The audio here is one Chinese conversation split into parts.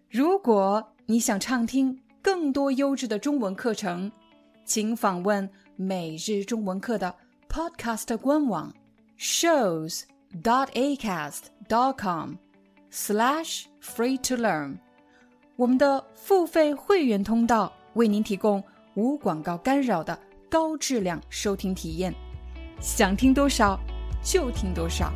如果你想畅听更多优质的中文课程，请访问每日中文课的 Podcast 官网 shows.acast.com/free-to-learn。我们的付费会员通道为您提供无广告干扰的高质量收听体验，想听多少就听多少。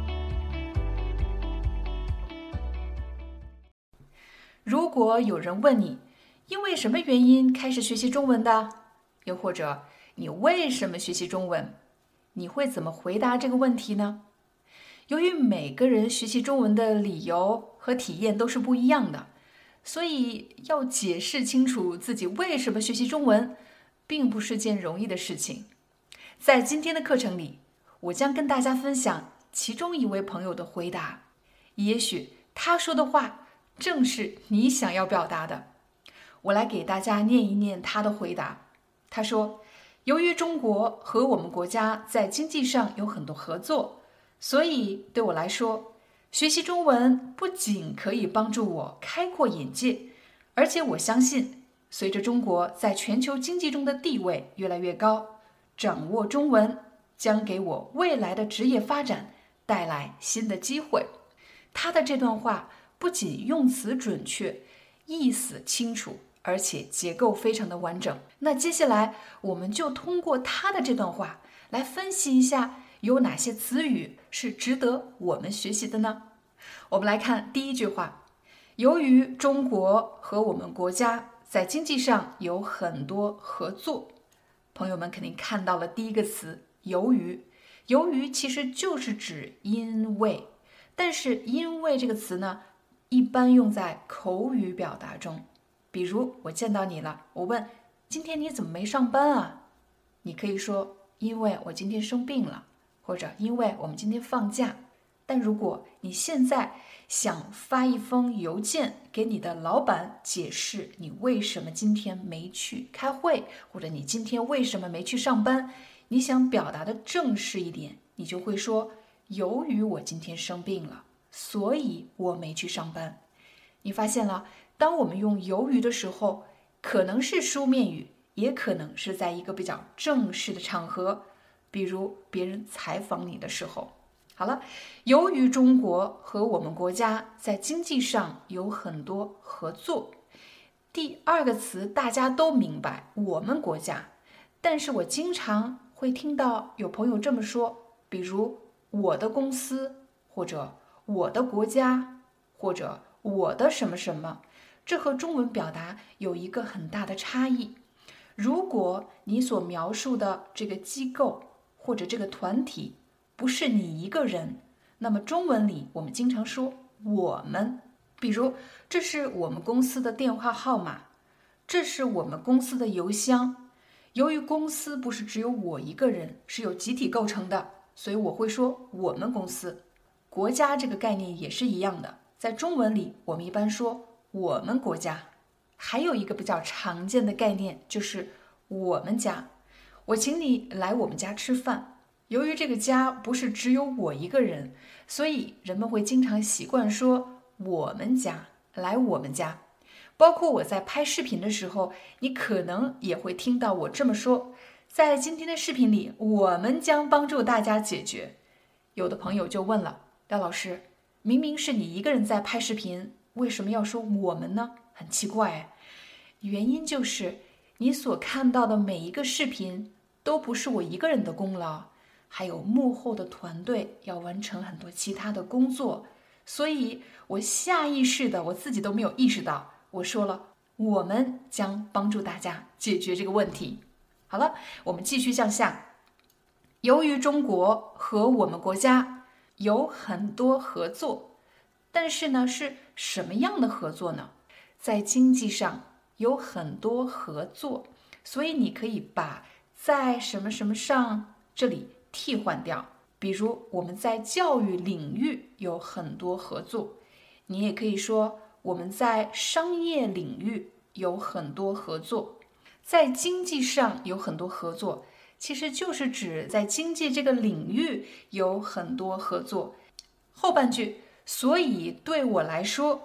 如果有人问你因为什么原因开始学习中文的，又或者你为什么学习中文，你会怎么回答这个问题呢？由于每个人学习中文的理由和体验都是不一样的，所以要解释清楚自己为什么学习中文并不是件容易的事情。在今天的课程里，我将跟大家分享其中一位朋友的回答，也许他说的话正是你想要表达的。我来给大家念一念他的回答。他说，由于中国和我们国家在经济上有很多合作，所以对我来说，学习中文不仅可以帮助我开阔眼界，而且我相信，随着中国在全球经济中的地位越来越高，掌握中文将给我未来的职业发展带来新的机会。他的这段话不仅用词准确，意思清楚，而且结构非常的完整。那接下来我们就通过他的这段话来分析一下有哪些词语是值得我们学习的呢？我们来看第一句话，由于中国和我们国家在经济上有很多合作。朋友们肯定看到了第一个词由于，由于其实就是指因为，但是因为这个词呢一般用在口语表达中。比如我见到你了，我问今天你怎么没上班啊？你可以说因为我今天生病了，或者因为我们今天放假。但如果你现在想发一封邮件给你的老板解释你为什么今天没去开会，或者你今天为什么没去上班，你想表达的正式一点，你就会说由于我今天生病了，所以我没去上班。你发现了，当我们用由于的时候，可能是书面语，也可能是在一个比较正式的场合，比如别人采访你的时候。好了，由于中国和我们国家在经济上有很多合作。第二个词大家都明白，我们国家，但是我经常会听到有朋友这么说，比如我的公司，或者我的国家，或者我的什么什么，这和中文表达有一个很大的差异。如果你所描述的这个机构或者这个团体不是你一个人，那么中文里我们经常说我们，比如这是我们公司的电话号码，这是我们公司的邮箱。由于公司不是只有我一个人，是由集体构成的，所以我会说我们公司。国家这个概念也是一样的，在中文里我们一般说我们国家。还有一个比较常见的概念就是我们家，我请你来我们家吃饭。由于这个家不是只有我一个人，所以人们会经常习惯说我们家，来我们家。包括我在拍视频的时候，你可能也会听到我这么说，在今天的视频里，我们将帮助大家解决。有的朋友就问了，廖老师，明明是你一个人在拍视频，为什么要说我们呢？很奇怪。原因就是你所看到的每一个视频都不是我一个人的功劳，还有幕后的团队要完成很多其他的工作，所以我下意识的，我自己都没有意识到，我说了我们将帮助大家解决这个问题。好了，我们继续向下。由于中国和我们国家有很多合作，但是呢，是什么样的合作呢？在经济上有很多合作，所以你可以把在什么什么上这里替换掉。比如我们在教育领域有很多合作，你也可以说我们在商业领域有很多合作。在经济上有很多合作，其实就是指在经济这个领域有很多合作。后半句，所以对我来说，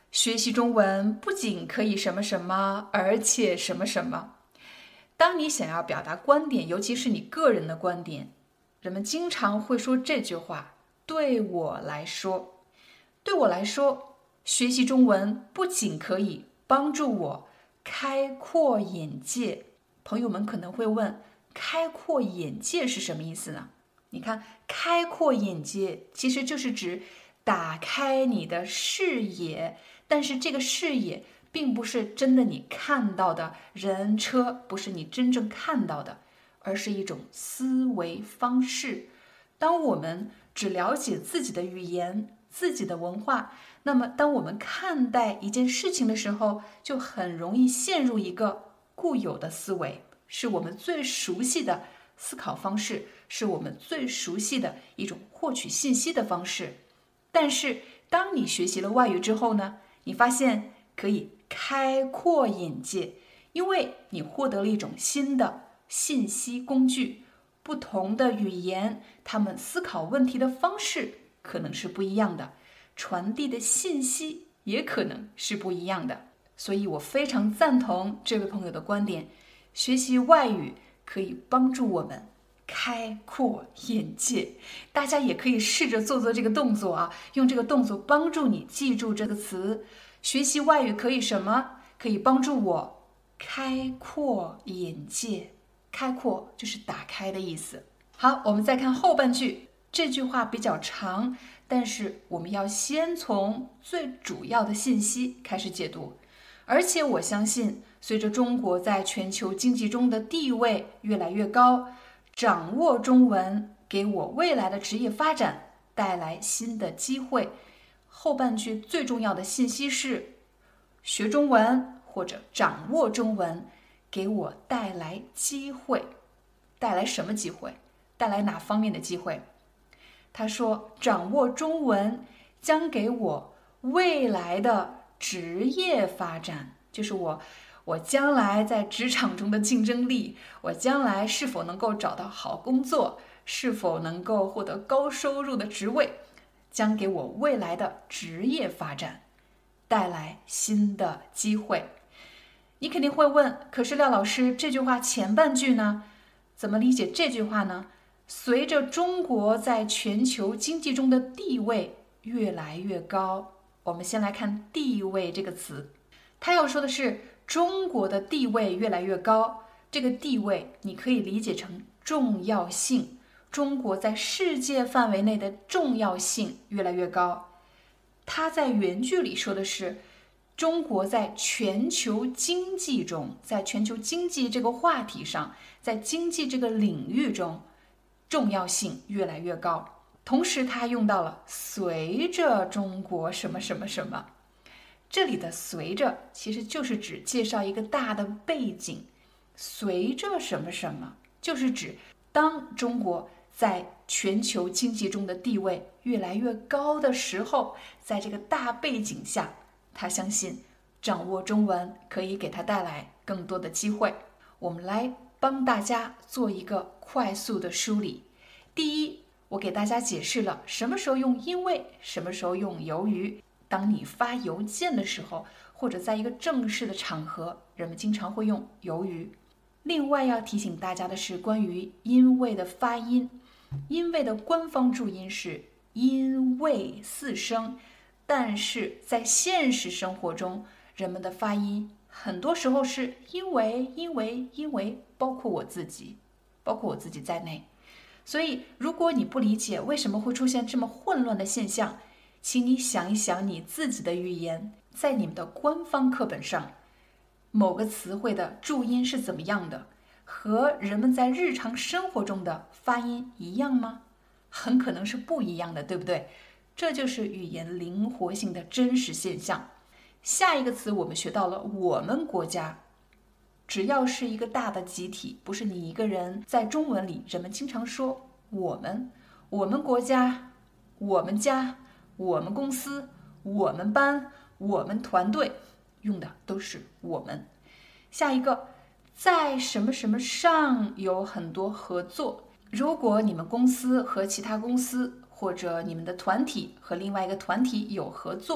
学习中文不仅可以什么什么，而且什么什么。当你想要表达观点，尤其是你个人的观点，人们经常会说这句话：对我来说，对我来说，学习中文不仅可以帮助我开阔眼界。朋友们可能会问，开阔眼界是什么意思呢？你看，开阔眼界其实就是指打开你的视野，但是这个视野并不是真的你看到的人车，不是你真正看到的，而是一种思维方式。当我们只了解自己的语言、自己的文化，那么当我们看待一件事情的时候，就很容易陷入一个固有的思维，是我们最熟悉的思考方式，是我们最熟悉的一种获取信息的方式。但是当你学习了外语之后呢，你发现可以开阔眼界，因为你获得了一种新的信息工具。不同的语言，他们思考问题的方式可能是不一样的，传递的信息也可能是不一样的。所以我非常赞同这位朋友的观点，学习外语可以帮助我们开阔眼界。大家也可以试着做这个动作啊，用这个动作帮助你记住这个词。学习外语可以什么？可以帮助我开阔眼界。开阔就是打开的意思。好，我们再看后半句。这句话比较长，但是我们要先从最主要的信息开始解读。而且我相信，随着中国在全球经济中的地位越来越高，掌握中文给我未来的职业发展带来新的机会。后半句最重要的信息是，学中文或者掌握中文给我带来机会。带来什么机会？带来哪方面的机会？他说，掌握中文将给我未来的职业发展，就是我将来在职场中的竞争力，我将来是否能够找到好工作，是否能够获得高收入的职位，将给我未来的职业发展带来新的机会。你肯定会问，可是廖老师，这句话前半句呢？怎么理解这句话呢？随着中国在全球经济中的地位越来越高，我们先来看地位这个词。他要说的是中国的地位越来越高，这个地位你可以理解成重要性，中国在世界范围内的重要性越来越高。他在原句里说的是中国在全球经济中，在全球经济这个话题上，在经济这个领域中，重要性越来越高。同时他用到了随着中国什么什么什么，这里的随着其实就是指介绍一个大的背景。随着什么什么就是指当中国在全球经济中的地位越来越高的时候，在这个大背景下，他相信掌握中文可以给他带来更多的机会。我们来帮大家做一个快速的梳理。第一，我给大家解释了什么时候用因为，什么时候用由于。当你发邮件的时候，或者在一个正式的场合，人们经常会用由于。另外要提醒大家的是关于因为的发音。因为的官方注音是因为四声，但是在现实生活中，人们的发音很多时候是因为，包括我自己在内。所以如果你不理解为什么会出现这么混乱的现象，请你想一想你自己的语言，在你们的官方课本上，某个词汇的注音是怎么样的，和人们在日常生活中的发音一样吗？很可能是不一样的，对不对？这就是语言灵活性的真实现象。下一个词我们学到了我们国家，只要是一个大的集体，不是你一个人，在中文里人们经常说我们国家，我们家，我们公司，我们班，我们团队，用的都是我们。下一个，在什么什么上有很多合作。如果你们公司和其他公司，或者你们的团体和另外一个团体有合作，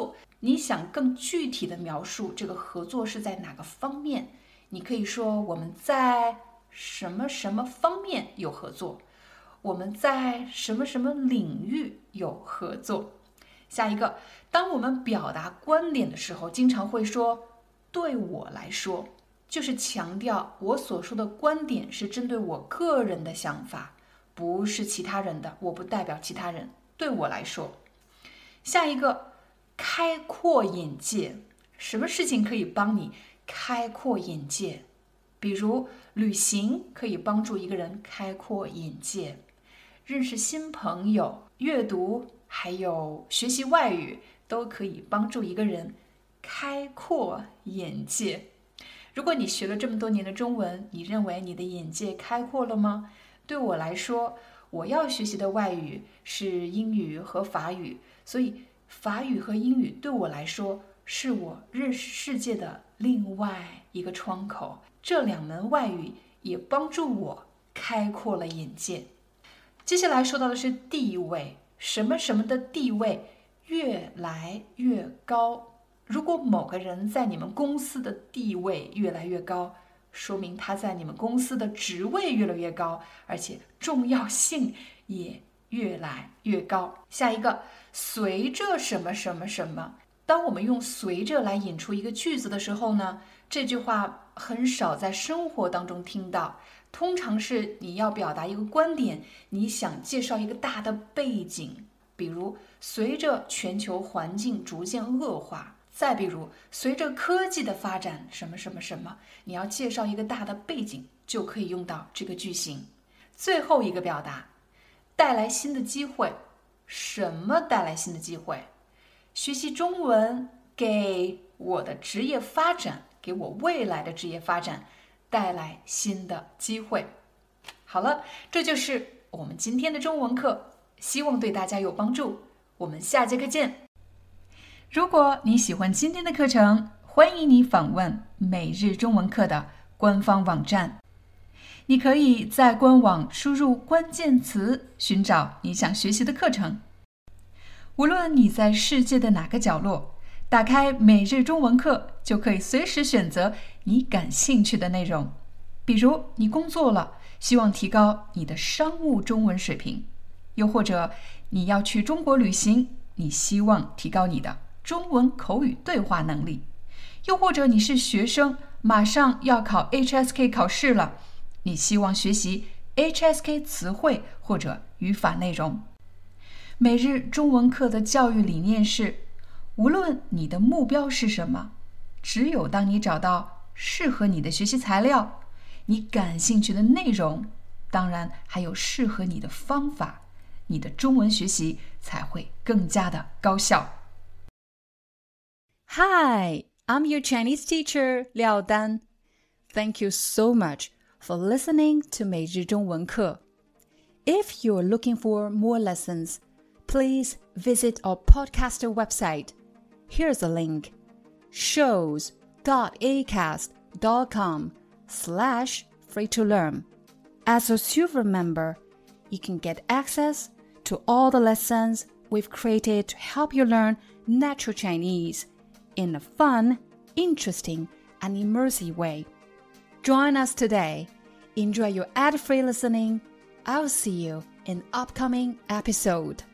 你想更具体的描述这个合作是在哪个方面，你可以说我们在什么什么方面有合作，我们在什么什么领域有合作。下一个，当我们表达观点的时候，经常会说对我来说，就是强调我所说的观点是针对我个人的想法，不是其他人的，我不代表其他人，对我来说。下一个，开阔眼界，什么事情可以帮你开阔眼界？比如旅行可以帮助一个人开阔眼界，认识新朋友，阅读还有学习外语都可以帮助一个人开阔眼界。如果你学了这么多年的中文，你认为你的眼界开阔了吗？对我来说，我要学习的外语是英语和法语，所以法语和英语对我来说是我认识世界的另外一个窗口。这两门外语也帮助我开阔了眼界。接下来说到的是地位，什么什么的地位越来越高。如果某个人在你们公司的地位越来越高，说明他在你们公司的职位越来越高，而且重要性也越来越高。下一个，随着什么什么什么。当我们用随着来引出一个句子的时候呢，这句话很少在生活当中听到，通常是你要表达一个观点，你想介绍一个大的背景，比如随着全球环境逐渐恶化，再比如随着科技的发展什么什么什么，你要介绍一个大的背景，就可以用到这个句型。最后一个表达，带来新的机会。什么带来新的机会？学习中文给我的职业发展，给我未来的职业发展带来新的机会。好了，这就是我们今天的中文课，希望对大家有帮助。我们下节课见。如果你喜欢今天的课程，欢迎你访问每日中文课的官方网站。你可以在官网输入关键词，寻找你想学习的课程。无论你在世界的哪个角落，打开每日中文课，就可以随时选择你感兴趣的内容。比如你工作了，希望提高你的商务中文水平，又或者你要去中国旅行，你希望提高你的中文口语对话能力，又或者你是学生，马上要考 HSK 考试了，你希望学习 HSK 词汇或者语法内容。每日中文课的教育理念是，无论你的目标是什么，只有当你找到适合你的学习材料，你感兴趣的内容，当然还有适合你的方法，你的中文学习才会更加的高效。 Hi, I'm your Chinese teacher, Liao Dan. Thank you so much for listening to 每日中文课. If you're looking for more lessons, please visit our podcaster website. Here's a link: shows.acast.com/free-to-learn. As a silver member, you can get access to all the lessons we've created to help you learn natural Chinese in a fun, interesting, and immersive way. Join us today. Enjoy your ad-free listening. I'll see you in upcoming episode.